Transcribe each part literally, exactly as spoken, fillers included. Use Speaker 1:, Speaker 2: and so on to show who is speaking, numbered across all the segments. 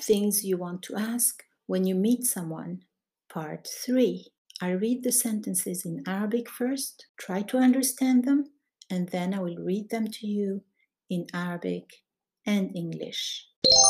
Speaker 1: things you want to ask when you meet someone. Part three. I read the sentences in Arabic first, try to understand them, and then I will read them to you in Arabic and English.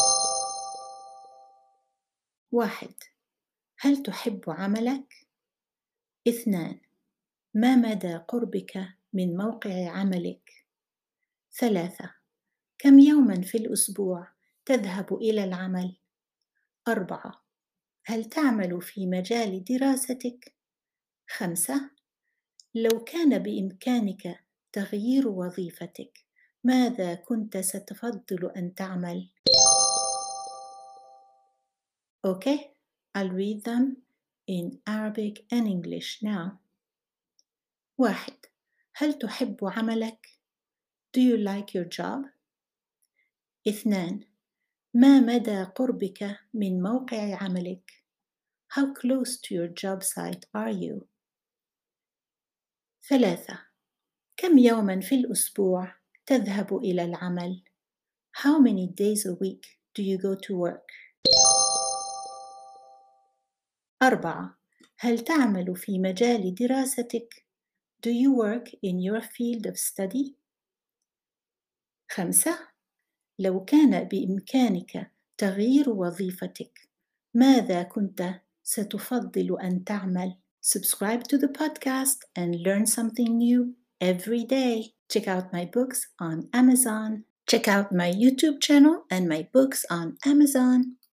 Speaker 1: واحد. هل تحب عملك؟ اثنان. ما مدى قربك من موقع عملك؟ ثلاثة. كم يوماً في الأسبوع تذهب إلى العمل؟ أربعة. هل تعمل في مجال دراستك؟ خمسة. لو كان بإمكانك تغيير وظيفتك، ماذا كنت ستفضل أن تعمل؟ Okay, I'll read them in Arabic and English now. واحد. هل تحب عملك؟ Do you like your job? اثنان. ما مدى قربك من موقع عملك؟ How close to your job site are you? ثلاثة. كم يوماً في الأسبوع تذهب إلى العمل؟ How many days a week do you go to work? أربعة. هل تعمل في مجال دراستك؟ Do you work in your field of study? خمسة. لو كان بإمكانك تغيير وظيفتك، ماذا كنت ستفضل أن تعمل؟ Subscribe to the podcast and learn something new every day. Check out my books on Amazon. Check out my YouTube channel and my books on Amazon.